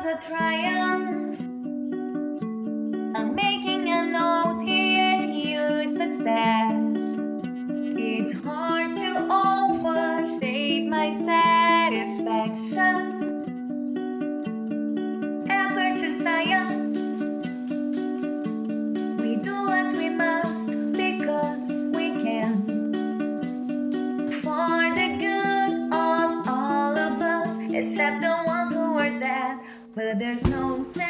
a triumph. I'm making a note here, huge success. It's hard to overstate my satisfaction. Aperture science. We do what we must because we can. For the good of all of us, except the ones who are dead. But there's no sense